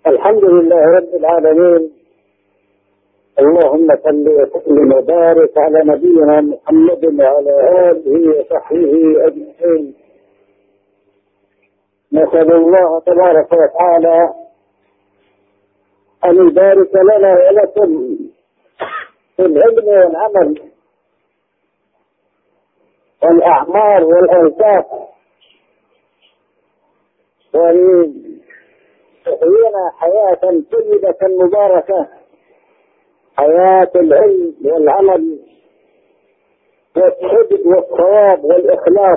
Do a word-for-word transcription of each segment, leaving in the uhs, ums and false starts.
الحمد لله رب العالمين. اللهم صل وسلم وبارك على نبينا محمد وعلى آله وصحبه أجمعين. نسأل الله تبارك وتعالى أن يبارك لنا ولكم في العلم والعمل والأعمار والأوقات، وأن يحيينا حياة طيبة مباركة، حياة العلم والعمل والصدق والصواب والإخلاص،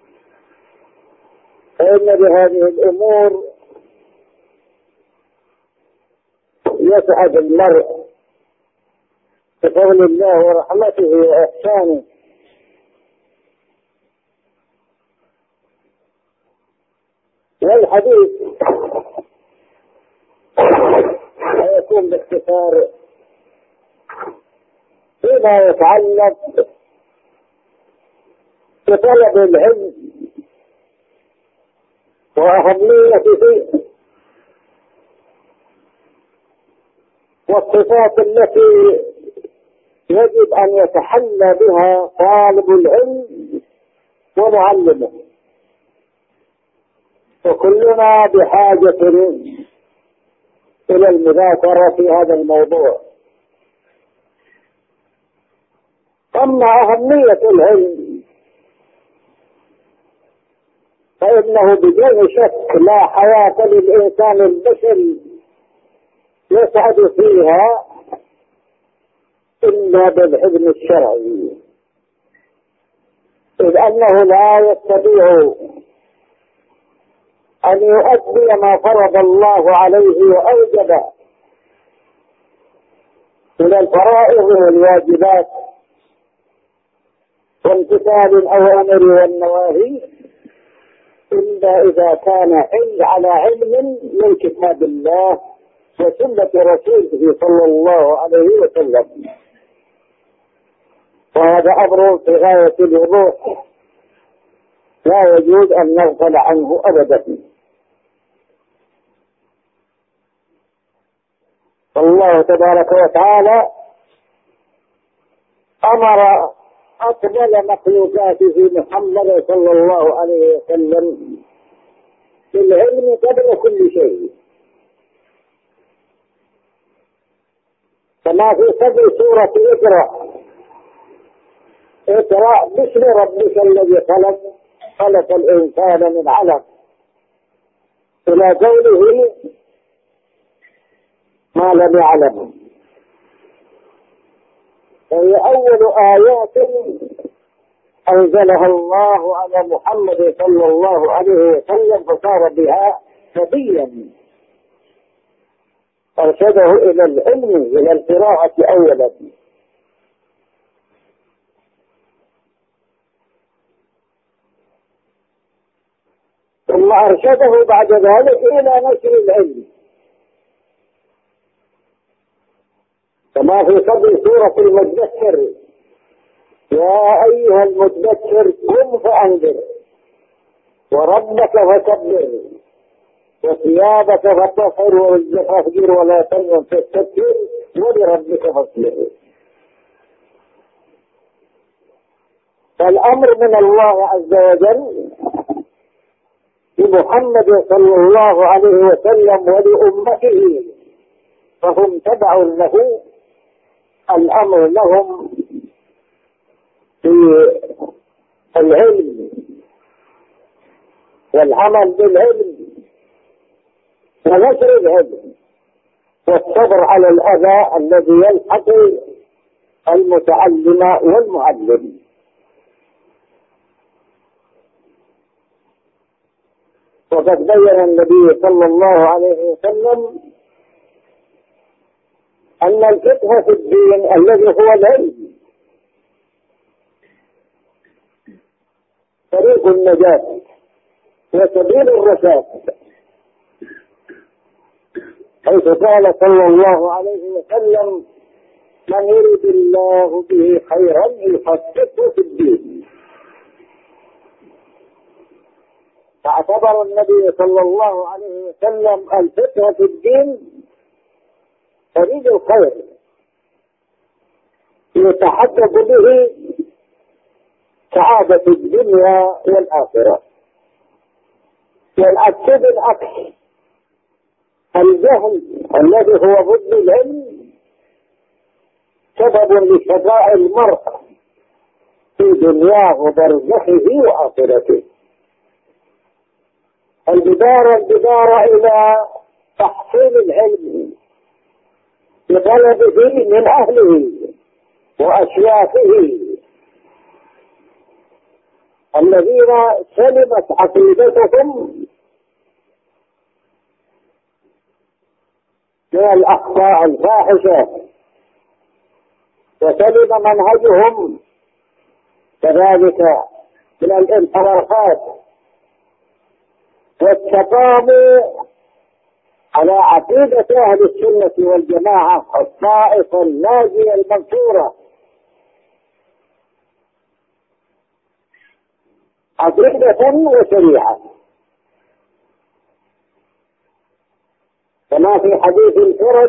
فإن بهذه الأمور يسعد المرء بفضل الله ورحمته وإحسانه. والحديث سيكون باختصار فيما يتعلق بطلب العلم وأهميته والصفات التي يجب أن يتحلى بها طالب العلم ومعلمه، وكلنا بحاجة إلى المذاكرة في هذا الموضوع. أما أهمية العلم فإنه بدون شك لا حياة للإنسان البشري يسعد فيها إلا بالعلم الشرعي، إذ أنه لا يستطيع أن يؤدي ما فرض الله عليه وأوجب من الفرائض والواجبات وامتثال الأوامر والنواهي إلا إذا كان على علم من كتاب الله وسنة رسوله صلى الله عليه وسلم. وهذا أمر في غاية الوضوح لا يجوز أن نغفل عنه أبدا. الله تبارك وتعالى أمر أفضل مخلوقاته محمد صلى الله عليه وسلم بالعلم قبل كل شيء، كما في صدر سورة اقرأ اقرأ باسم ربك الذي خلق خلق الإنسان من علق إلى قوله ما لم يعلم. فهي أول آيات أنزلها الله على محمد صلى الله عليه وسلم، فصار بها نبيا أرشده إلى العلم إلى القراءة أولا، ثم أرشده بعد ذلك إلى نشر العلم، كما في صدر سورة المدثر يا أيها المدثر قم فأنذر وربك فكبر وثيابك فطهر والزفافير ولا تمنن تستكبر ولربك فاصبر. فالأمر من الله عز وجل لمحمد صلى الله عليه وسلم ولأمته، فهم تبع له، الأمر لهم في العلم والعمل بالعلم ونشر العلم والصبر على الأذى الذي يلحق المتعلم والمعلم. وقد بين النبي صلى الله عليه وسلم أن الفقه في الدين الذي هو العلم طريق النجاة وسبيل الرشاد، حيث قال صلى الله عليه وسلم من يريد الله به خيرا يفقهه في الدين. فاعتبر النبي صلى الله عليه وسلم الفقه في الدين طريق الخير يتحقق به سعادة الدنيا والآخرة. والعكس بالعكس، الجهل الذي هو ضد العلم سبب لشقاء المرء في دنياه وبرزخه وآخرته. البدارة البدارة إلى تحصيل العلم بطلبه من أهله وأشياخه الذين سلمت عقيدتهم من الأخطاء الفاحشة وسلم منهجهم كذلك من الانحرافات، واستقاموا على عقيدة أهل السنة والجماعة الطائفة الناجية المنصورة، عقيدة وشريعة، كما في حديث الفرج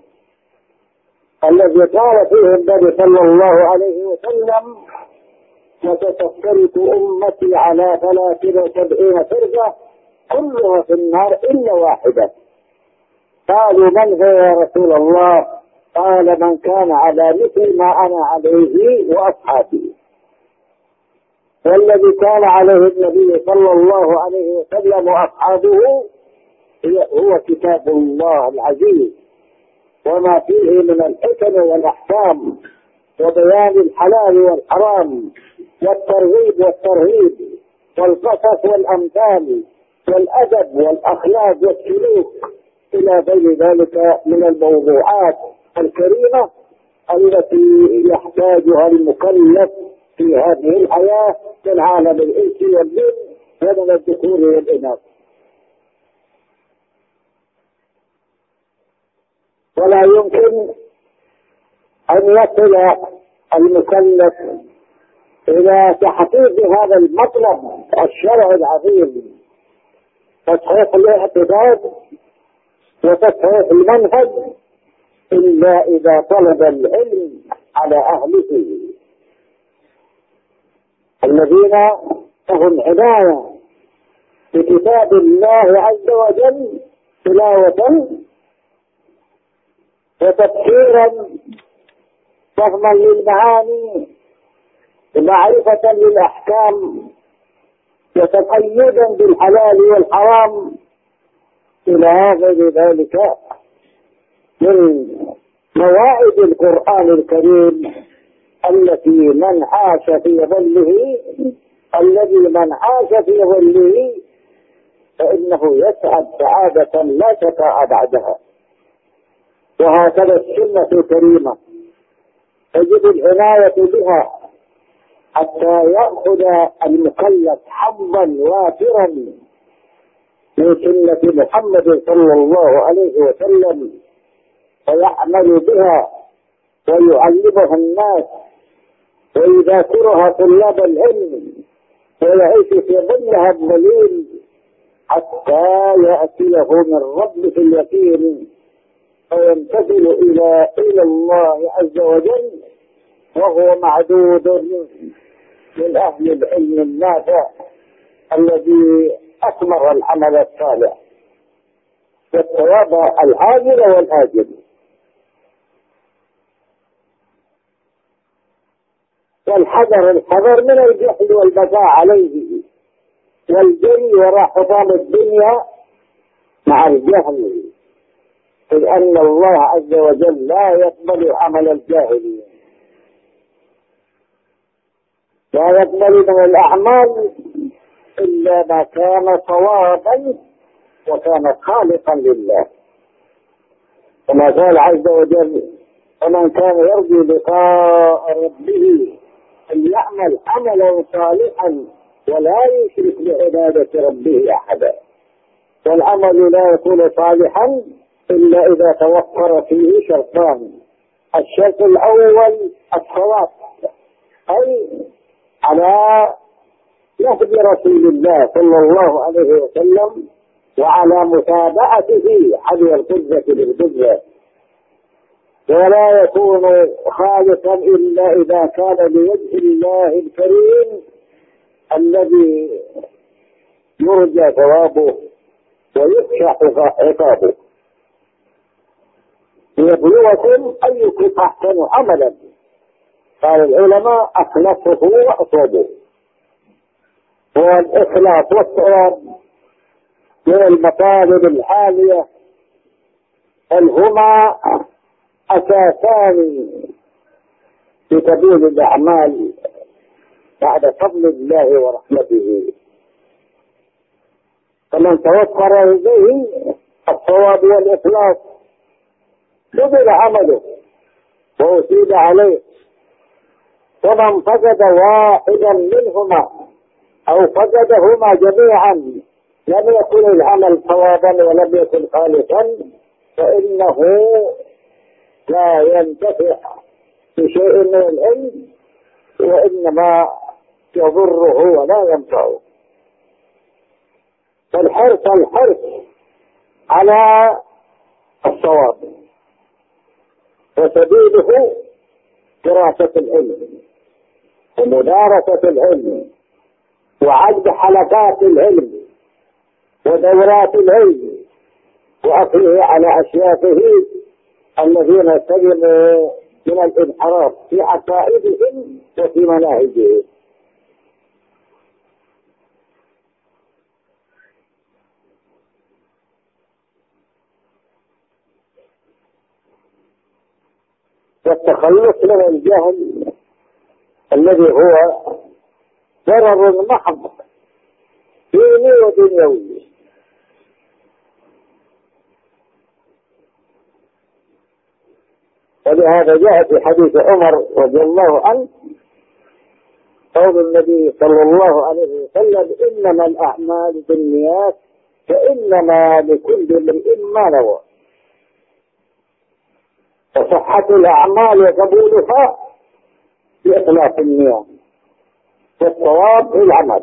الذي قال فيه النبي صلى الله عليه وسلم: وستفترق أمتي على ثلاث وسبعين فرقة كلها في النار إلا واحدة. قالوا: من هو يا رسول الله؟ قال: من كان على مثل ما أنا عليه وأصحابي. والذي كان عليه النبي صلى الله عليه وسلم وأصحابه هو كتاب الله العزيز وما فيه من الحكم والأحكام وبيان الحلال والحرام والترغيب والترهيب والقصص والأمثال والأدب والأخلاق والسلوك إلى غير ذلك من الموضوعات الكريمة التي يحتاجها المكلف في هذه الحياة من عالم الإنس والجن ومن الذكور والإناث. ولا يمكن أن يصل المكلف إلى تحقيق هذا المطلب الشرعي العظيم، تصحيح الاعتقاد وتصحيح المنهج، إلا إذا طلب العلم على أهله الذين لهم عناية بكتاب الله عز وجل تلاوة وتفسيرا فهما للمعاني ومعرفة للأحكام وتقيدا بالحلال والحرام إلى غير ذلك من مواعظ القرآن الكريم التي من عاش في ظله الذي من عاش في ظله فإنه يسعد سعادة لا شقاء بعدها. وهكذا السنة الكريمة تجب العناية بها حتى يأخذ المكلف حظا وافرا من سنة محمد صلى الله عليه وسلم ويعمل بها ويعلمها الناس ويذاكرها طلاب العلم ويعيش في ظلها الذليل حتى يأتيه من ربه اليقين فينتقل إلى إلى الله عز وجل وهو معدود من أهل العلم النافع الذي أثمر العمل الصالح والثواب العاجل والآجل. والحذر الحذر من الجهل والبقاء عليه والجري وراء حطام الدنيا مع الجهل، إذ أن الله عز وجل لا يقبل عمل الجاهلين، لا يقبل من الأعمال إلا ما كان صوابا وكان خالقا لله، كما قال عز وجل: ومن كان يرجو لقاء ربه فليعمل عملا صالحا ولا يشرك بعبادة ربه أحدا. والعمل لا يكون صالحا إلا إذا توفر فيه شرطان: الشرط الأول الصواب، أي على نهج رسول الله صلى الله عليه وسلم وعلى متابعته حذو القدة بالقدة، ولا يكون خالصا إلا إذا كان لوجه الله الكريم الذي يرجى ثوابه ويخشى عقابه، ليبلوكم أيكم أحسن عملا. قال العلماء أخلصه وأصوبه. هو الإخلاص والصواب من المطالب العالية، بل هما أساسان في سبيل الأعمال بعد فضل الله ورحمته. فمن توفر إليه الصواب والإخلاص قبل عمله وأثيب عليه، ومن فقد واحدا منهما أو فقدهما جميعا لم يكن العمل صوابا ولم يكن خالصا، فإنه لا ينتفع بشيء من العلم، وإنما يضره ولا ينفعه. فالحرص الحرص على الصواب، وسبيله دراسة العلم ومدارسة العلم وعد حلقات العلم ودورات العلم وأخذه على أشياخه الذين سلموا من الانحراف في عقائدهم وفي مناهجهم. والتخلص من الجهل الذي هو ضرر محض ديني ودنيوي. ولهذا جاء في حديث عمر رضي الله عنه قول النبي صلى الله عليه وسلم: إنما الأعمال بالنيات فإنما لكل امرئ ما نوى. وصحة الأعمال وقبولها بإخلاص النية والصواب في العمل.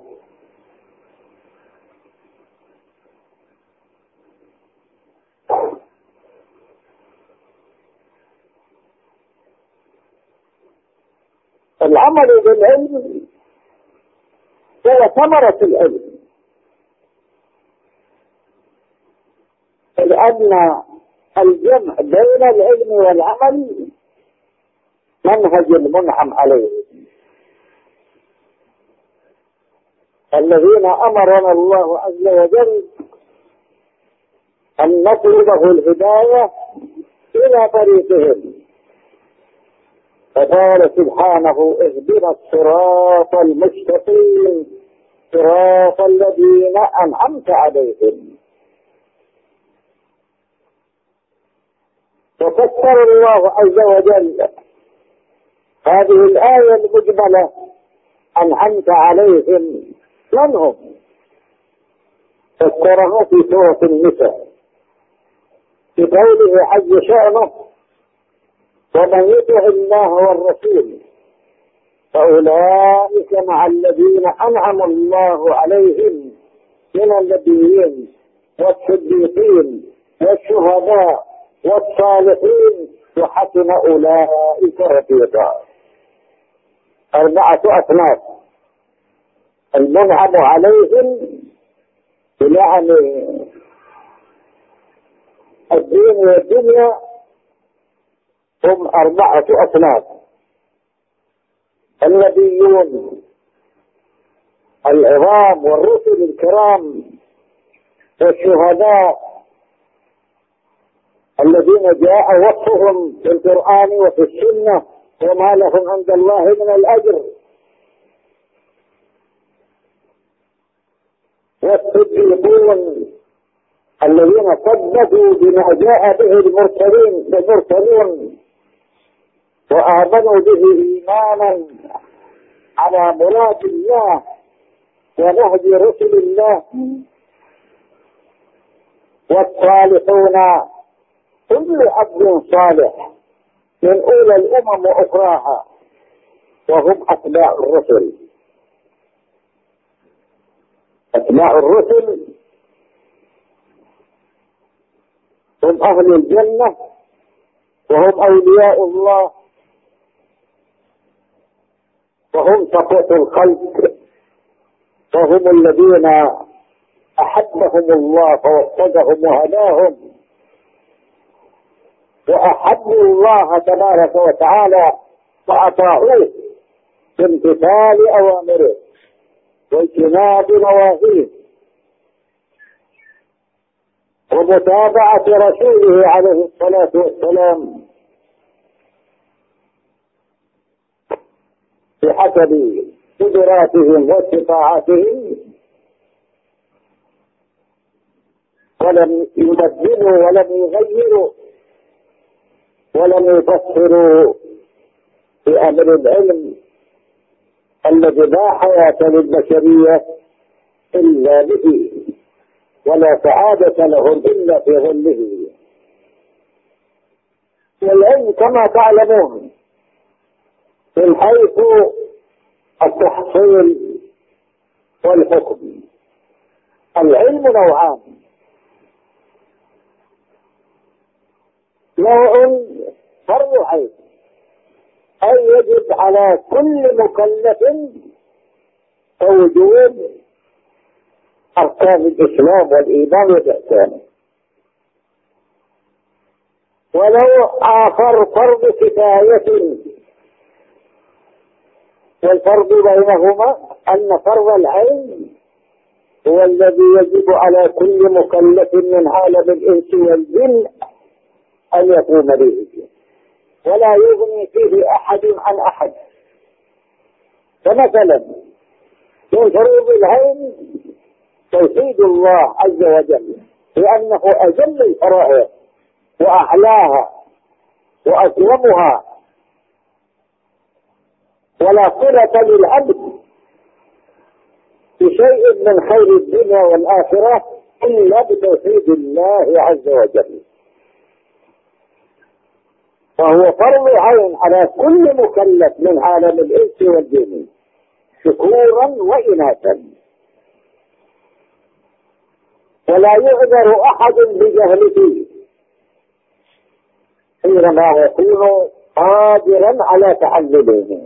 العمل بالعلم هو ثمرة العلم، لأن الجمع بين العلم والعمل منهج المنعم عليه. الذين أمرنا الله عز وجل أن نطلبه الهداية إلى طريقهم، فقال سبحانه: اهدنا الصراط المستقيم صراط الذين أنعمت عليهم. وفسر الله عز وجل هذه الآية المجملة أنعمت عليهم من هم؟ فسرها في سورة النساء بقوله عز شأنه: ومن يطع الله والرسول فأولئك مع الذين أنعم الله عليهم من النبيين والصديقين والشهداء والصالحين وحسن أولئك رفيقا. أربعة أصناف: المنعم عليهم يعني الدين والدنيا هم أربعة أصناف: النبيون العظام والرسل الكرام والشهداء الذين جاء وصفهم في القرآن وفي السنة وما لهم عند الله من الأجر، والصديقون الذين صدقوا بما جاء به المرسلين المرسلون وآمنوا به إيمانا على مراد الله ونهج رسل الله، والصالحون كل عبد صالح من أولى الأمم وأخراها وهم أتباع الرسل. أتباع الرسل هم أهل الجنة وهم أولياء الله وهم صفوة الخلق وهم الذين أحبهم الله فوفقهم وهداهم وأحبوا الله تبارك وتعالى فأطاعوه بامتثال أوامره واجتناب نواهيه ومتابعة رسوله عليه الصلاة والسلام بحسب قدراتهم واستطاعاتهم، ولم يبدلوا ولم يغيروا ولم يفسروا بأمر العلم الذي لا حياة للبشرية إلا به ولا سعادة لهم إلا في ظله. والعلم كما تعلمون من حيث التحصيل والحكم العلم نوعان: نوع فرض عين أي يجب على كل مكلف وجود أركان الإسلام والإيمان والإحسان، ولو آخر فرض كفاية، والفرق بينهما أن فرض العين هو الذي يجب على كل مكلف من عالم الإنس والجن أن يقوم به ولا يغني فيه أحد عن أحد. فمثلا من فروض العين توحيد الله عز وجل لأنه أجل الفرائض وأعلاها وأكرمها، ولا صلة للعبد بشيء من خير الدنيا والآخرة إلا بتوحيد الله عز وجل، فهو فرض عين على كل مكلف من عالم الإنس والجن ذكورا وإناثا، ولا يعذر أحد بجهله حينما يكون قادرا على تعلمه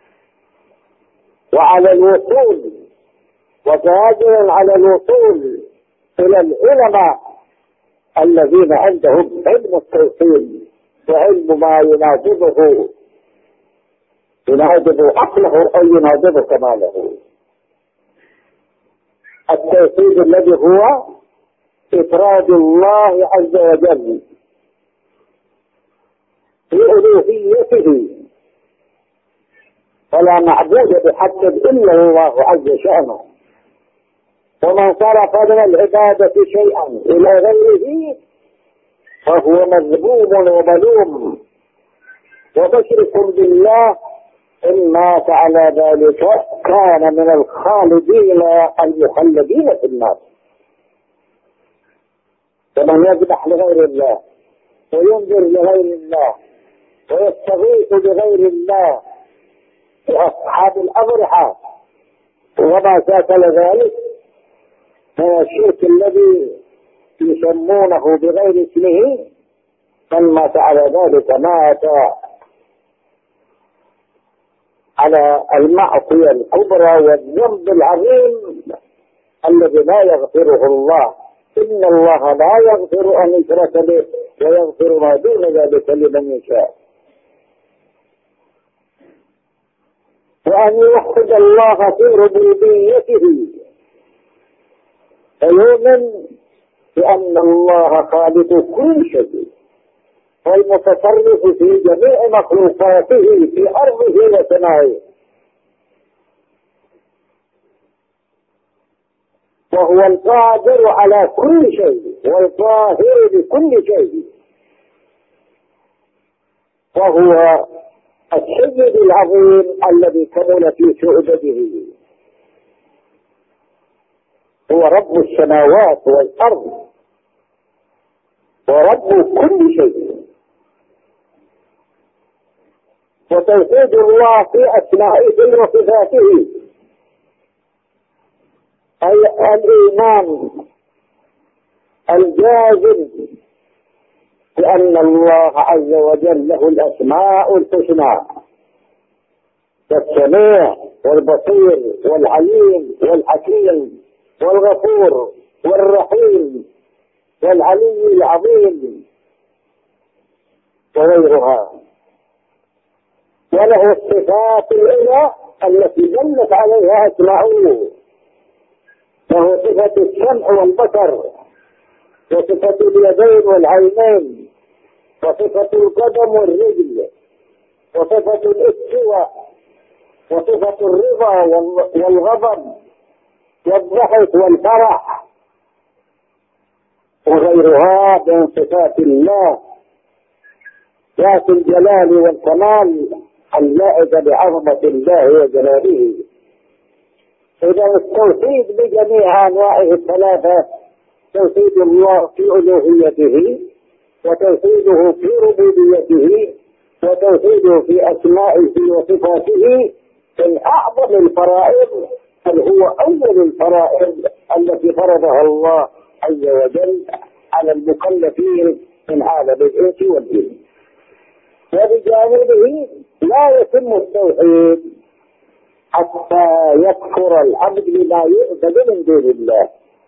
وعلى الوصول وقادر على الوصول إلى العلماء الذين عندهم علم التوحيد وعلم ما يناسبه يناسب عقله أو يناسب كماله. التوحيد الذي هو إفراد الله عز وجل بألوهيته، فلا معبود بحق إلا الله عز شأنه، ومن صرف من العبادة شيئا إلى غيره فهو مذموم وملوم ومشرك بالله، إن مات على ذلك كان من الخالدين المخلدين في النار. فمن يذبح لغير الله وينذر لغير الله ويستغيث بغير الله أصحاب الأضرحة وما شاكل ذلك من الشرك الذي يسمونه بغير اسمه، من مات على ذلك مات على المعصية الكبرى والذنب العظيم الذي لا يغفره الله. إن الله لا يغفر أن يشرك به ويغفر ما دون ذلك لمن يشاء، وأن يوحد الله في ربوبيته فيؤمن بأن الله خالق كل شيء والمتصرف في جميع مخلوقاته في أرضه وسمائه، وهو القادر على كل شيء والقاهر بكل شيء، وهو السيد العظيم الذي كمل في شعبته، هو رب السماوات والأرض ورب كل شيء. وتوحيد الله في أسمائه وصفاته أي الإيمان الجازم بأن الله عز وجل له الأسماء الحسنى، السميع والبصير والعليم والحكيم والغفور والرحيم والعلي العظيم وغيرها، وله الصفات العلى التي دلت عليها أسماؤه، له صفة السمع والبصر، وصفة اليدين والعينين، وصفة القدم والرجل، وصفة الاستواء، وصفة الرضا والغضب والضحك والفرح وغيرها من صفات الله ذات الجلال والكمال اللائقة بعظمة الله وجلاله. إذا التوحيد بجميع أنواعه الثلاثة، توحيد الله في ألوهيته، وتوحيده في ربوبيته، وتوحيده في أسمائه وصفاته، من أعظم الفرائض، بل هو أول الفرائض التي فرضها الله عز وجل على المكلفين من عالم الإنس والجن. وبجانبه لا يتم التوحيد حتى يكفر العبد بما يعبد من دون الله،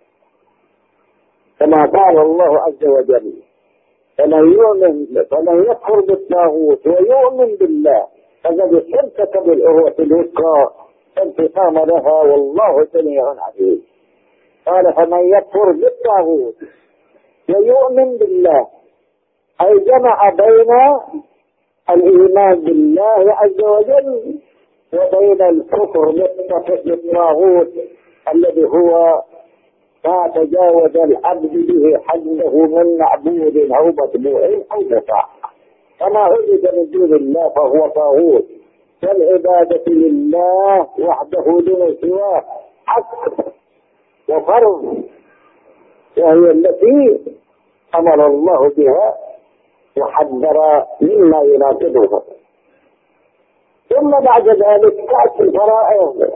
كما قال الله عز وجل: فمن يؤمن فمن يكفر بالطاغوت ويؤمن بالله فقد استمسك بالعروة الوثقى انفصام لها والله سميع عليم. قال: فمن يكفر بالطاغوت ويؤمن بالله، أي جمع بين الإيمان بالله عز وجل وبين الكفر بالطاغوت الذي هو ما تجاوز العبد به حده من معبود أو متبوع أو مطاع، فما عبد من دون الله فهو طاغوت، والعبادة لله وحده دون سواه حق وفرض، وهي التي أمر الله بها وحذر مما يناقضها. ثم بعد ذلك تأتي الفرائض،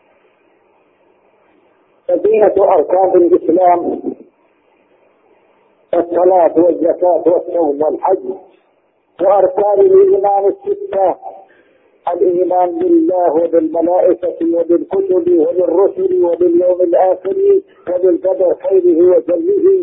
بقية أركان الإسلام: الصلاة والزكاة والصوم والحج، وأركان الإيمان الستة: الإيمان بالله وبالملائكة وبالكتب وبالرسل وباليوم الآخر وبالقدر خيره وشره،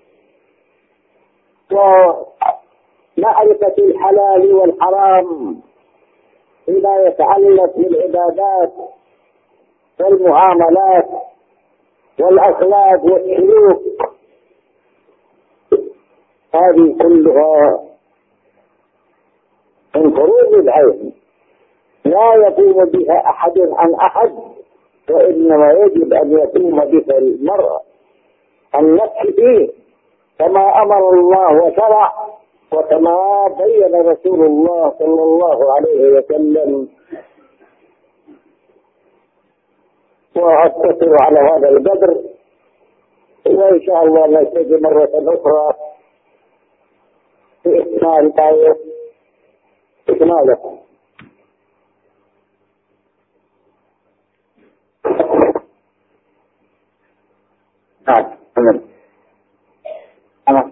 ومعرفة الحلال والحرام فيما يتعلق بالعبادات والمعاملات والأخلاق والسلوك. هذه كلها من فروض العين لا يقوم بها أحد عن أحد، وإنما يجب أن يقوم بها المرء النفس فيه كما أمر الله وشرع، وكما بين رسول الله صلى الله عليه وسلم. وأقتصر على هذا القدر، وإن شاء الله نلتقي مرة أخرى في إكمال آية إكماله. نعم تمام. تمام.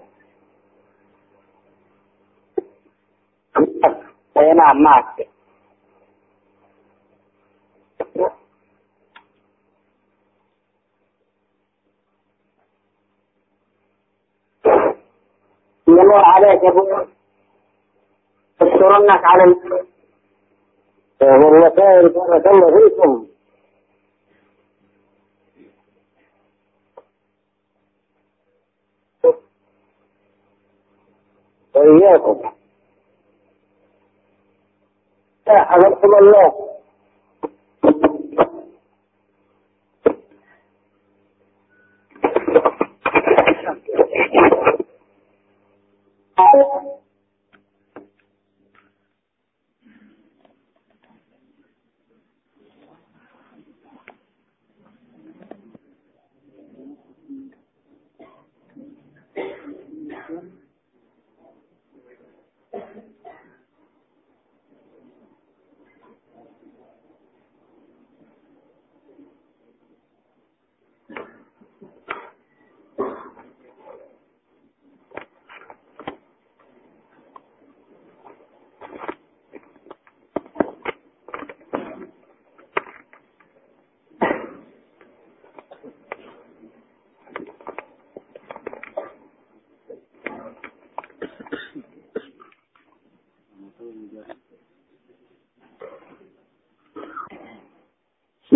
أي نعم معك. يمر عليك أبو تشكرنك على ال والله خير بارك الله فيكم. وإياكم حفظكم الله.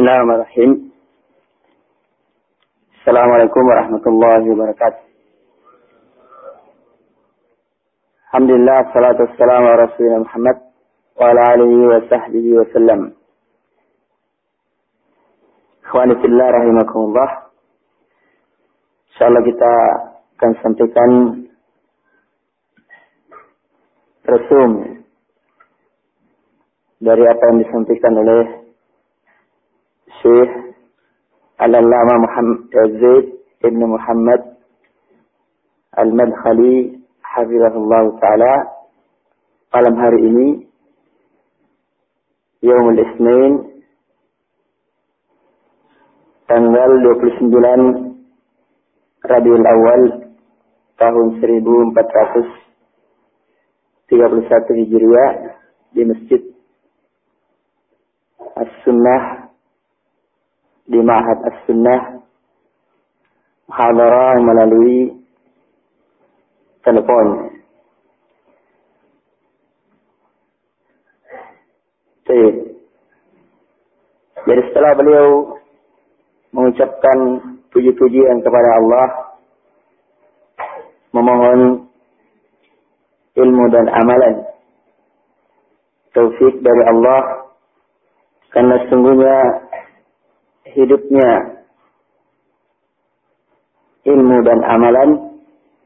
Bismillahirrahmanirrahim. Assalamualaikum warahmatullahi wabarakatuh. Alhamdulillah, salatu wassalamu ala Rasulullah Muhammad wa ala alihi wa sahbihi wa sallam. Ikhwani fillah rahimakumullah. Insyaallah kita akan sampaikan resum dari apa yang disampaikan oleh Syekh Al-Allama Muhammad Zaid Ibn Muhammad Al-Madkhali hafizahullah ta'ala malam hari ini Yaumul Isnin tanggal dua puluh sembilan Rabiul Awal tahun seribu empat ratus tiga puluh satu Hijriah di Masjid As-Sunnah di Ma'had As-Sunnah muhadarah melalui telepon. Jadi setelah beliau mengucapkan puji-pujian kepada Allah, memohon ilmu dan amalan taufik dari Allah, karena sungguhnya hidupnya ilmu dan amalan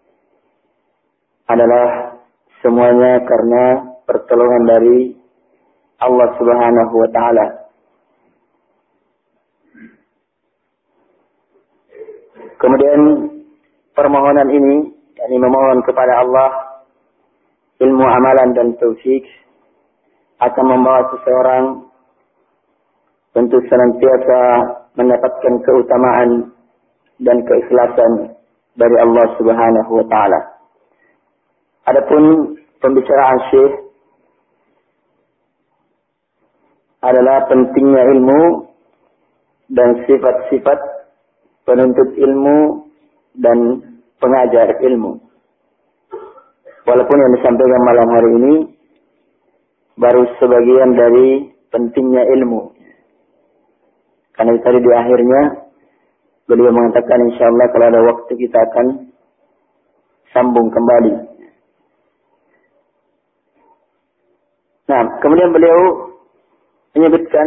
adalah semuanya karena pertolongan dari Allah Subhanahu wa ta'ala. Kemudian permohonan ini, yakni memohon kepada Allah ilmu, amalan dan taufik, akan membawa seseorang tentu senantiasa mendapatkan keutamaan dan keikhlasan dari Allah Subhanahu wa ta'ala. Adapun pembicaraan Syekh adalah pentingnya ilmu dan sifat-sifat penuntut ilmu dan pengajar ilmu. Walaupun yang disampaikan malam hari ini baru sebagian dari pentingnya ilmu. Karena tadi di akhirnya beliau mengatakan insyaallah kalau ada waktu kita akan sambung kembali. Nah, kemudian beliau menyebutkan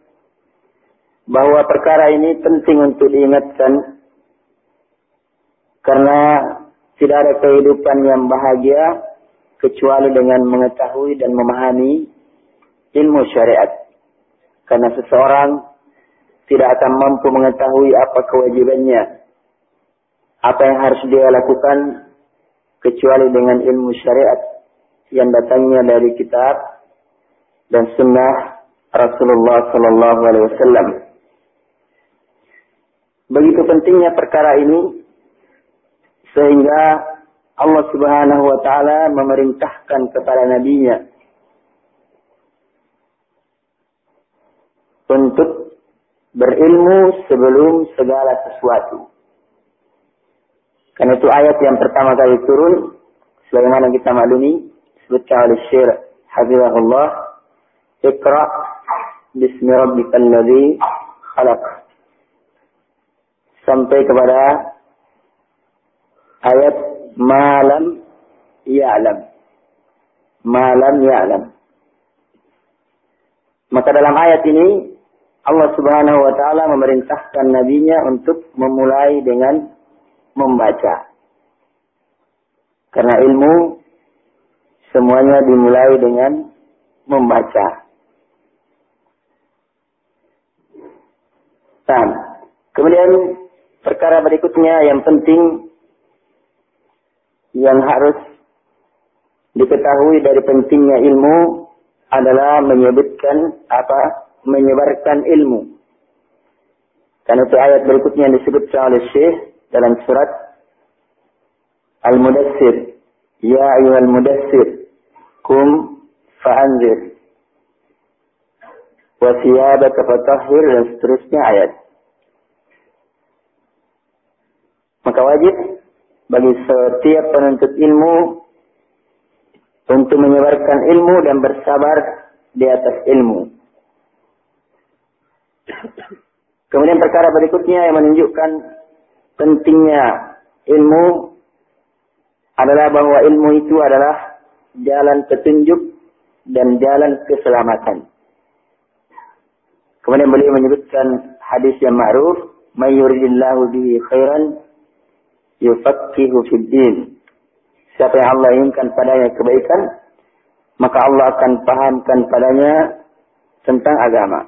bahwa perkara ini penting untuk diingatkan karena tidak ada kehidupan yang bahagia kecuali dengan mengetahui dan memahami ilmu syariat. Karena seseorang tidak akan mampu mengetahui apa kewajibannya, apa yang harus dia lakukan, kecuali dengan ilmu syariat yang datangnya dari kitab dan sunnah Rasulullah Sallallahu Alaihi Wasallam. Begitu pentingnya perkara ini sehingga Allah Subhanahu Wa Taala memerintahkan kepada nabinya untuk berilmu sebelum segala sesuatu. Karena itu ayat yang pertama kali turun, sebagaimana kita maklumi, disebutkan oleh Syekh Hafizahullah, Iqra bismi rabbikal ladzi khalaq, sampai kepada ayat malam ya'lam. Malam ya'lam. Maka dalam ayat ini Allah Subhanahu wa ta'ala memerintahkan nabinya untuk memulai dengan membaca. Karena ilmu semuanya dimulai dengan membaca. Nah, kemudian perkara berikutnya yang penting yang harus diketahui dari pentingnya ilmu adalah menyebutkan apa? Menyebarkan ilmu. Karena itu ayat berikutnya yang disebutkan oleh Syekh dalam surat Al-Mudassir. Ya ayyuhal mudassir, kum fa'anzir. Wa thiyabaka fatahhir, dan seterusnya ayat. Maka wajib bagi setiap penuntut ilmu untuk menyebarkan ilmu dan bersabar di atas ilmu. Kemudian perkara berikutnya yang menunjukkan pentingnya ilmu adalah bahwa ilmu itu adalah jalan petunjuk dan jalan keselamatan. Kemudian beliau menyebutkan hadis yang ma'ruf, "May yuridillahu bihi khairan yufaqihu fid din." Siapa yang Allah inginkan padanya kebaikan, maka Allah akan pahamkan padanya tentang agama.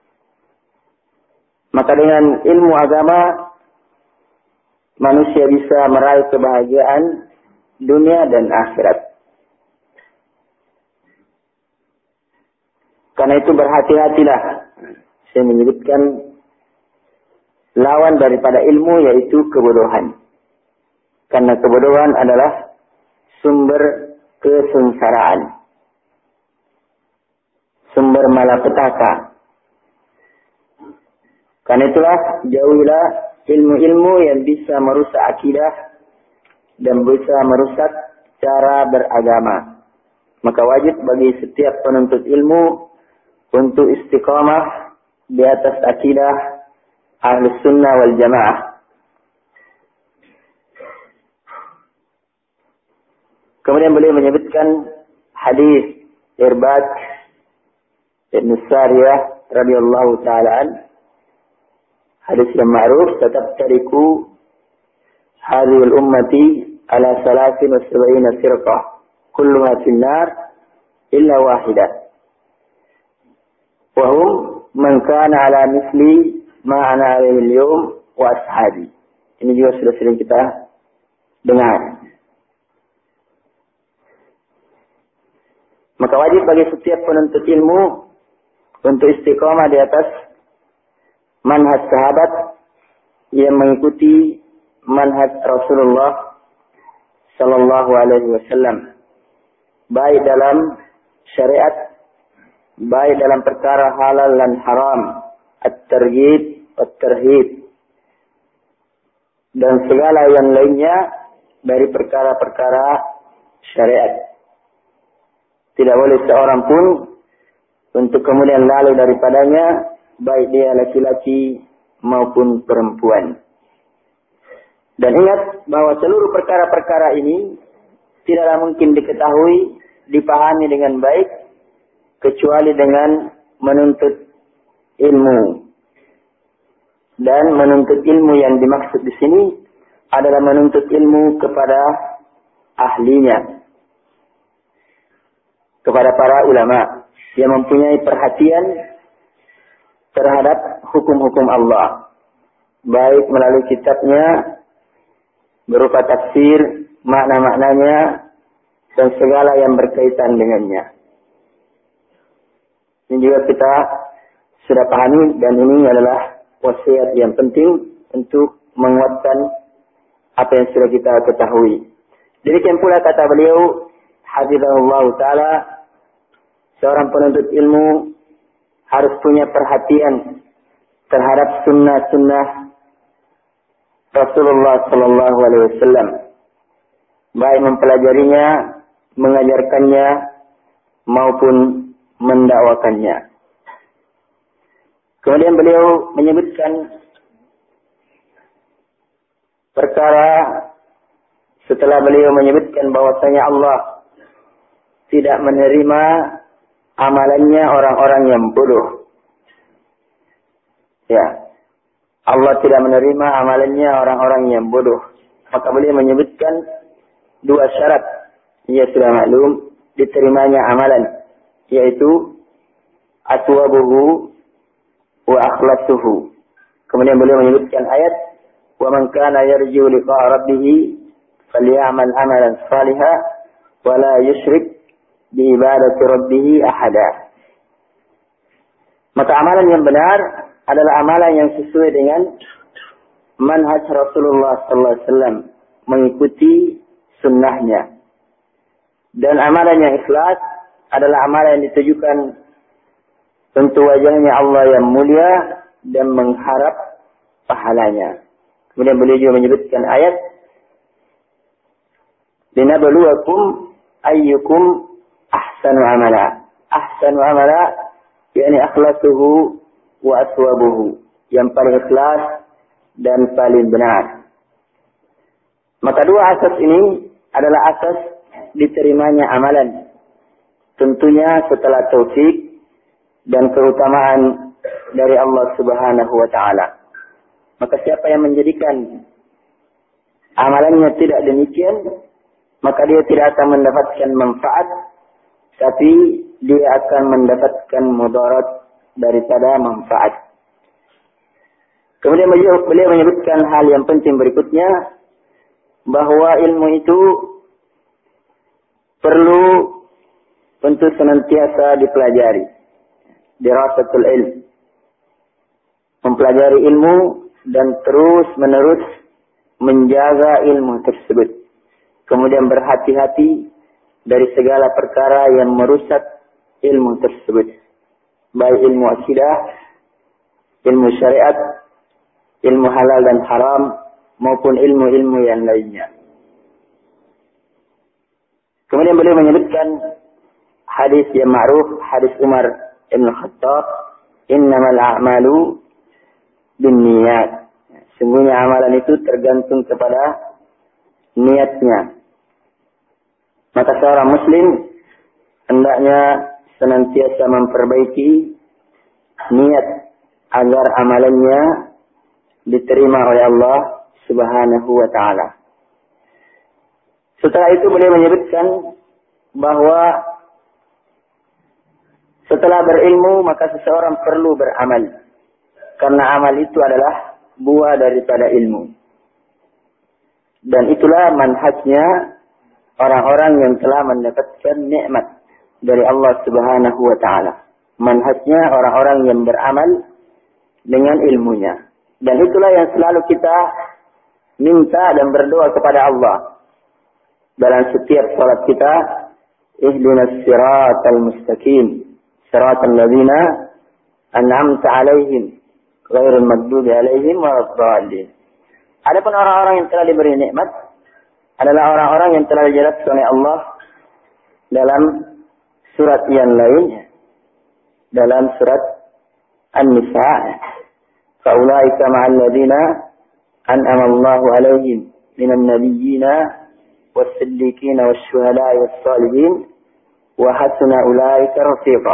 Maka dengan ilmu agama, manusia bisa meraih kebahagiaan dunia dan akhirat. Karena itu berhati-hatilah. Saya menyebutkan lawan daripada ilmu yaitu kebodohan. Karena kebodohan adalah sumber kesengsaraan. Sumber malapetaka. Karena itulah jauhilah ilmu-ilmu yang bisa merusak akidah dan bisa merusak cara beragama. Maka wajib bagi setiap penuntut ilmu untuk istiqamah di atas akidah Ahlus Sunnah wal Jamaah. Kemudian beliau menyebutkan hadis Irbad Ibn Sariyah radhiyallahu ta'ala an. Hadis yang ma'ruf, "Tataftariku hadhihi al-ummati ala salasin wa sab'ina firqah, kulluha fin nar illa wahidah. Wa hum man kana ala misli ma ana alaihi al-yawm wa ashabi." Ini juga sudah sering kita dengar. Maka wajib bagi setiap penuntut ilmu untuk istiqamah di atas manhaj sahabat yang mengikuti manhaj Rasulullah sallallahu alaihi wasallam, baik dalam syariat, baik dalam perkara halal dan haram, at-targhib wat-tarhib, dan segala yang lainnya dari perkara-perkara syariat. Tidak boleh seorang pun untuk kemudian lalu daripadanya, baik dia laki-laki maupun perempuan. Dan ingat bahwa seluruh perkara-perkara ini tidaklah mungkin diketahui, dipahami dengan baik, kecuali dengan menuntut ilmu. Dan menuntut ilmu yang dimaksud di sini adalah menuntut ilmu kepada ahlinya, kepada para ulama yang mempunyai perhatian terhadap hukum-hukum Allah, baik melalui kitabnya berupa tafsir, makna-maknanya, dan segala yang berkaitan dengannya. Ini juga kita sudah pahami, dan ini adalah wasiat yang penting untuk menguatkan apa yang sudah kita ketahui. Demikian pula kata beliau, hafizahullah ta'ala, seorang penuntut ilmu harus punya perhatian terhadap sunnah-sunnah Rasulullah sallallahu alaihi wasallam, baik mempelajarinya, mengajarkannya, maupun mendakwakannya. Kemudian beliau menyebutkan perkara setelah beliau menyebutkan bahwasanya Allah tidak menerima amalannya orang-orang yang bodoh. Ya, Allah tidak menerima amalannya orang-orang yang bodoh. Maka beliau menyebutkan dua syarat, ia sudah maklum diterimanya amalan, yaitu aswabuhu wa akhlasuhu. Kemudian beliau menyebutkan ayat, "Wa man kana yarju liqa'a rabbih falyamal amalan salihan wa la yusyrik bi ibadati rabbih ahada." Maka amalan yang benar adalah amalan yang sesuai dengan manhaj Rasulullah sallallahu alaihi wasallam, mengikuti sunnahnya. Dan amalan yang ikhlas adalah amalan yang ditujukan untuk wajahnya Allah yang mulia dan mengharap pahalanya. Kemudian beliau juga menyebutkan ayat, "Linabluwakum ayyukum ahsanu amala." Ahsanu amala yakni akhlasuhu wa aswabuhu. yang paling ikhlas dan paling benar. Maka dua asas ini adalah asas diterimanya amalan. Tentunya setelah taufik dan keutamaan dari Allah Subhanahu wa taala. Maka siapa yang menjadikan amalannya tidak demikian, maka dia tidak akan mendapatkan manfaat, tapi dia akan mendapatkan mudarat daripada manfaat. Kemudian beliau, beliau menyebutkan hal yang penting berikutnya, bahwa ilmu itu perlu untuk senantiasa dipelajari. Dirasatul ilm. Mempelajari ilmu dan terus menerus menjaga ilmu tersebut. Kemudian berhati-hati dari segala perkara yang merusak ilmu tersebut. Baik ilmu akidah, ilmu syariat, ilmu halal dan haram, maupun ilmu-ilmu yang lainnya. Kemudian beliau menyebutkan hadis yang ma'ruf, hadis Umar Ibn Khattab, innamal a'malu binniyat. Sungguhnya amalan itu tergantung kepada niatnya. Maka seorang muslim hendaknya senantiasa memperbaiki niat agar amalannya diterima oleh Allah Subhanahu wa taala. Setelah itu beliau menyebutkan bahwa setelah berilmu maka seseorang perlu beramal. Karena amal itu adalah buah daripada ilmu. Dan itulah manhajnya orang-orang yang telah mendapatkan nikmat dari Allah Subhanahu wa taala. Manhajnya orang-orang yang beramal dengan ilmunya. Dan itulah yang selalu kita minta dan berdoa kepada Allah dalam setiap salat kita, ihdinas siratal mustaqim, siratal ladzina an'amta 'alaihim, ghairil maghdubi 'alaihim waladdallin. Adapun orang-orang yang telah diberi nikmat adalah orang-orang yang telah dijelaskan oleh Allah dalam surat yang lain, dalam surat An-Nisa. Faulaika ma'al ladzina an'ama Allahu 'alaihim minan nabiyyina was-siddiqina wasyuhada'i was-shalihin wa hasuna ulaika rafiqa.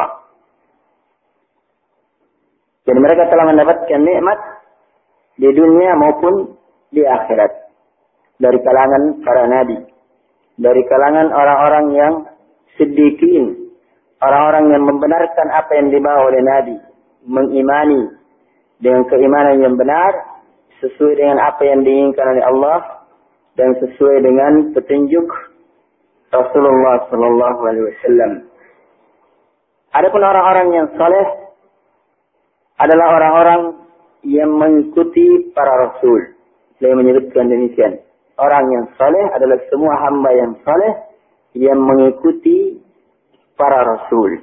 Jadi mereka telah mendapatkan nikmat di dunia maupun di akhirat. Dari kalangan para nabi, dari kalangan orang-orang yang siddiqin, orang-orang yang membenarkan apa yang dibawa oleh nabi, mengimani dengan keimanan yang benar sesuai dengan apa yang diinginkan oleh Allah dan sesuai dengan petunjuk Rasulullah sallallahu alaihi wasallam. Adapun orang-orang yang saleh adalah orang-orang yang mengikuti para rasul. Saya menyebutkan demikian. Orang yang saleh adalah semua hamba yang saleh yang mengikuti para rasul.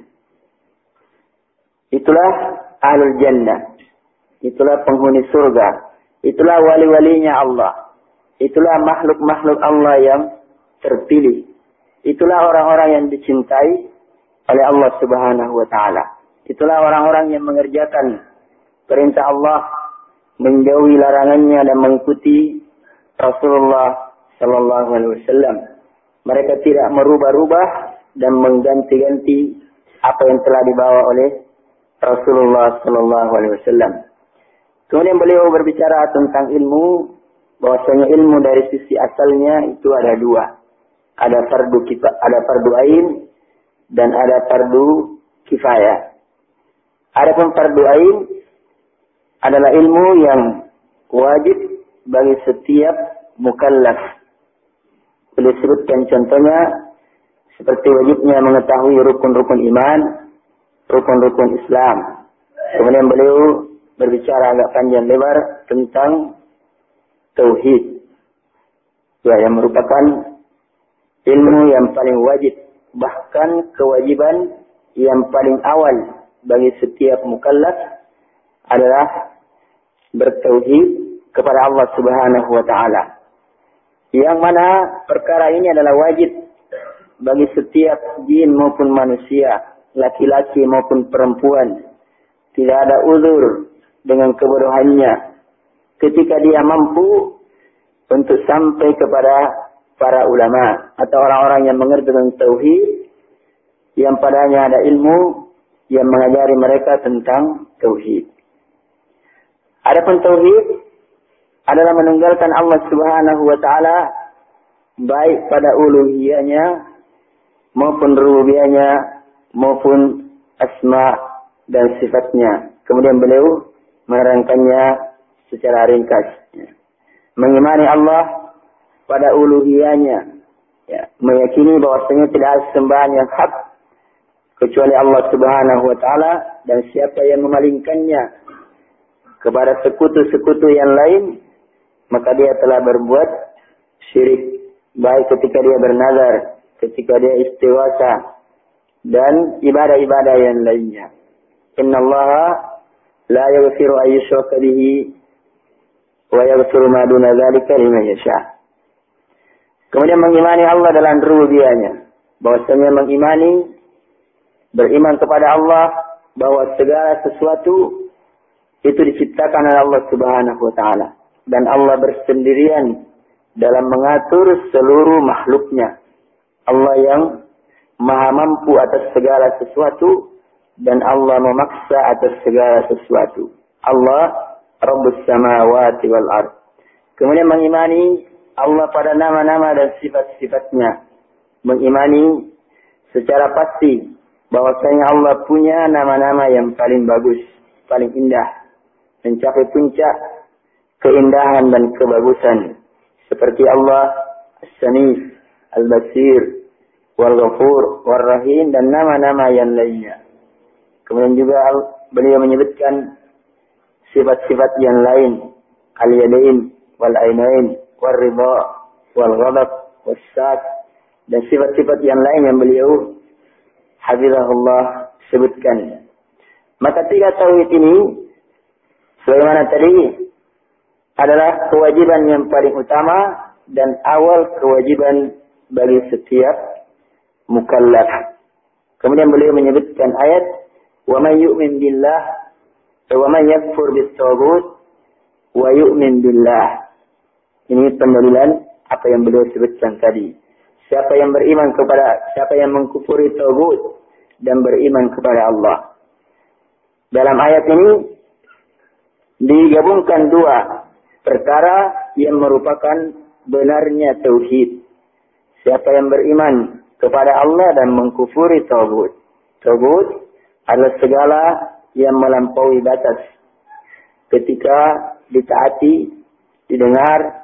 Itulah ahlul jannah. Itulah penghuni surga. Itulah wali-walinya Allah. Itulah makhluk-makhluk Allah yang terpilih. Itulah orang-orang yang dicintai oleh Allah Subhanahu wa taala. Itulah orang-orang yang mengerjakan perintah Allah, menjauhi larangannya dan mengikuti Rasulullah sallallahu alaihi wasallam. Mereka tidak merubah-rubah dan mengganti-ganti apa yang telah dibawa oleh Rasulullah sallallahu alaihi wasallam. Kemudian beliau berbicara tentang ilmu, bahwasanya ilmu dari sisi asalnya itu ada dua. Ada fardu kita, ada fardu ain dan ada fardu kifayah. Adapun fardu ain adalah ilmu yang wajib bagi setiap mukallaf. Beliau sebutkan contohnya seperti wajibnya mengetahui rukun-rukun iman, rukun-rukun Islam. Kemudian beliau berbicara agak panjang lebar tentang tauhid, ya, yang merupakan ilmu yang paling wajib, bahkan kewajiban yang paling awal bagi setiap mukallaf adalah bertauhid kepada Allah Subhanahu wa taala. Yang mana perkara ini adalah wajib bagi setiap jin maupun manusia, laki-laki maupun perempuan. Tidak ada uzur dengan kebodohannya ketika dia mampu untuk sampai kepada para ulama atau orang-orang yang mengerti tentang tauhid, yang padanya ada ilmu yang mengajari mereka tentang tauhid. Adapun tauhid adalah menunggalkan Allah Subhanahu wa taala baik pada uluhiyahnya maupun rububiyahnya maupun asma dan sifatnya. Kemudian beliau menerangkannya secara ringkas. Mengimani Allah pada uluhiyahnya, ya, meyakini bahwasanya tidak ada sembahan yang hak kecuali Allah Subhanahu wa taala, dan siapa yang memalingkannya kepada sekutu-sekutu yang lain, maka dia telah berbuat syirik, baik ketika dia bernazar, ketika dia istighosah, dan ibadah-ibadah yang lainnya. Innallaha la yaghfiru an yushraka bihi wa yaghfiru ma duna dzalika liman yasha. Kemudian mengimani Allah dalam rububiyahnya, bahwasanya mengimani, beriman kepada Allah bahwa segala sesuatu itu diciptakan oleh Allah Subhanahu wa taala, dan Allah bersendirian dalam mengatur seluruh makhluknya. Allah yang maha mampu atas segala sesuatu, dan Allah memaksa atas segala sesuatu. Allah Rabbus samawati wal ard. Kemudian mengimani Allah pada nama-nama dan sifat-sifatnya. Mengimani secara pasti bahwasanya Allah punya nama-nama yang paling bagus, paling indah, mencapai puncak keindahan dan kebagusan. Seperti Allah As-Samif, Al-Basir, Wal-Ghafur, Wal-Rahim, dan nama-nama yang lainnya. Kemudian juga beliau menyebutkan sifat-sifat yang lain, Al-Yadain, Wal-Ainain, Wal-Ridha, Wal-Ghadab, Wal-Sat, dan sifat-sifat yang lain yang beliau hafizahullah sebutkan. Maka tiga tauhid ini, sebagaimana tadi, adalah kewajiban yang paling utama dan awal kewajiban bagi setiap mukallaf. Kemudian beliau menyebutkan ayat, wa man yu'min billah wa man yakfur bit-taghut wa yu'min billah. Ini pendalilan apa yang beliau sebutkan tadi. Siapa yang beriman kepada, siapa yang mengkufuri taghut dan beriman kepada Allah. Dalam ayat ini digabungkan dua perkara yang merupakan benarnya tauhid. Siapa yang beriman kepada Allah dan mengkufuri taghut. Taghut adalah segala yang melampaui batas ketika ditaati, didengar,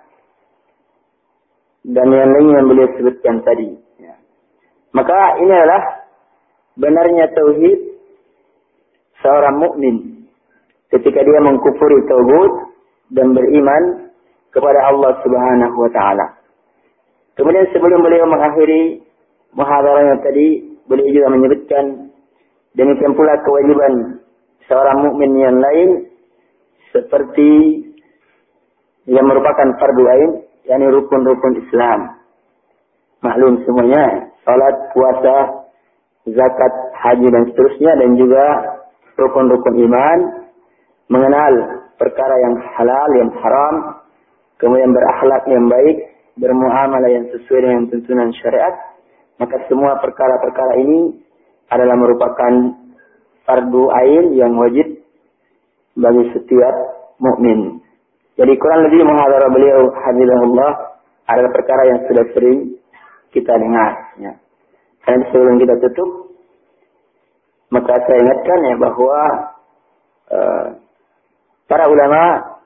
dan yang lain yang beliau sebutkan tadi. Ya. Maka ini adalah benarnya tauhid seorang mukmin ketika dia mengkufuri taghut dan beriman kepada Allah Subhanahu wa taala. Kemudian sebelum beliau mengakhiri muhadarahnya tadi, beliau juga menyebutkan demikian pula kewajiban seorang mukmin yang lain seperti yang merupakan fardu ain, yakni rukun-rukun Islam. Maklum semuanya, salat, puasa, zakat, haji dan seterusnya, dan juga rukun-rukun iman, mengenal perkara yang halal, yang haram, kemudian berakhlak yang baik, bermuamalah yang sesuai dengan tuntunan syariat. Maka semua perkara-perkara ini adalah merupakan fardu ain yang wajib bagi setiap mukmin. Jadi kurang lebih muhadarah beliau hafizahullah adalah perkara yang sudah sering kita dengar. Ya. Dan sebelum kita tutup, maka saya ingatkan ya bahwa uh, para ulama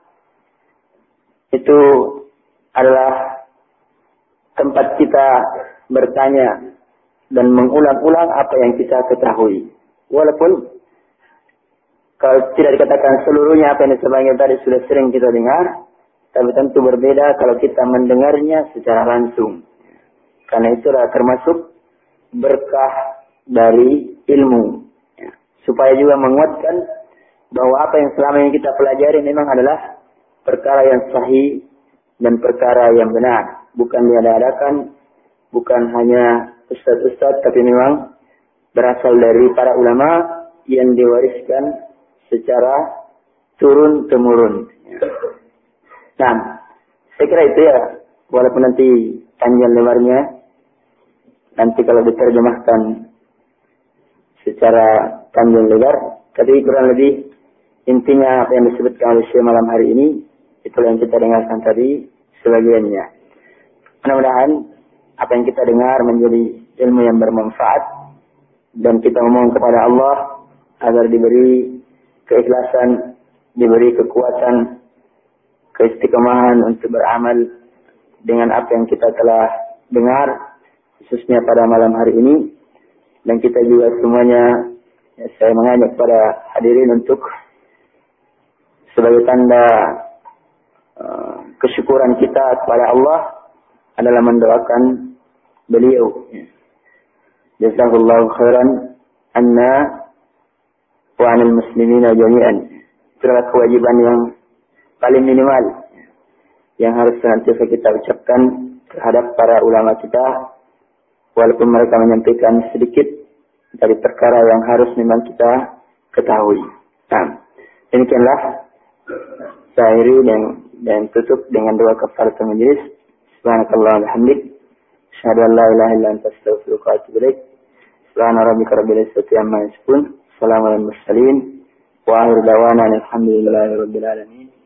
itu adalah tempat kita bertanya dan mengulang-ulang apa yang kita ketahui. Walaupun kalau tidak dikatakan seluruhnya apa yang disampaikan tadi sudah sering kita dengar, tapi tentu berbeda kalau kita mendengarnya secara langsung. Karena itu adalah termasuk berkah dari ilmu. Ya. Supaya juga menguatkan bahwa apa yang selama ini kita pelajari memang adalah perkara yang sahih dan perkara yang benar. Bukan diada-adakan, bukan hanya ustaz-ustaz, tapi memang berasal dari para ulama yang diwariskan secara turun temurun. Nah, saya kira itu ya, walaupun nanti panjang lebarnya, nanti kalau diterjemahkan secara panjang lebar, tapi kurang lebih intinya apa yang disebutkan oleh Syekh malam hari ini, itulah yang kita dengarkan tadi sebagiannya. Mudah-mudahan apa yang kita dengar menjadi ilmu yang bermanfaat, dan kita memohon kepada Allah agar diberi keikhlasan, diberi kekuatan, keistiqomahan untuk beramal dengan apa yang kita telah dengar, khususnya pada malam hari ini. Dan kita juga semuanya, ya, saya mengajak kepada hadirin untuk sebagai tanda uh, kesyukuran kita kepada Allah adalah mendoakan beliau. Jazakallahu khairan anna wa anil muslimina jami'an. Itulah kewajiban yang paling minimal yang harus senantiasa kita ucapkan terhadap para ulama kita, walaupun mereka menyampaikan sedikit dari perkara yang harus memang kita ketahui. Nah, demikianlah saya akhiri dan, dan tutup dengan doa kafaratul majelis. Subhanakallah walhamdik, asyhadu an la ilaha illa anta astaghfiruka wa atubu ilaik. Subhana rabbika rabbil izzati amma yasifun, salamun alal mursalin, wa akhiru da'wana alhamdulillahi rabbil alamin.